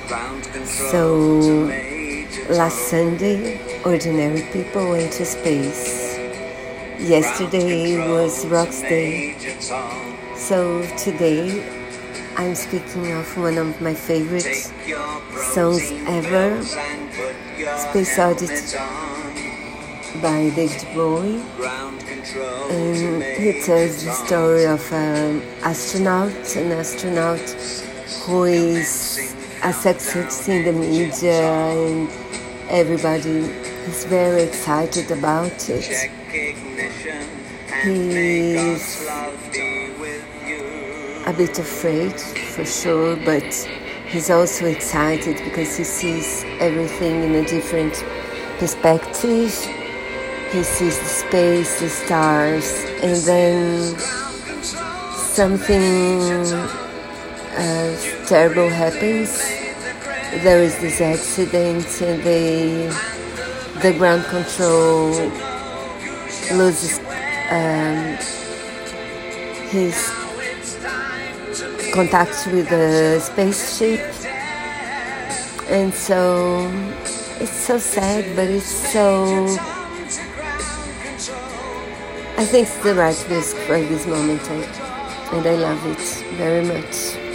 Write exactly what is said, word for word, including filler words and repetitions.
So last Sunday, ordinary people went to space. Yesterday was Rock's Day. So today I'm speaking of one of my favorite songs ever, Space Oddity by David Bowie. And he tells the story of an astronaut, an astronaut who is a success in the media and everybody is very excited about it. He's a bit afraid for sure, but he's also excited because he sees everything in a different perspective. He sees the space, the stars, and then something uh, terrible happens. There is this accident and they, the ground control loses um, his contact with the spaceship, and so it's so sad, but it's so, I think it's the right risk for this moment, and I love it very much.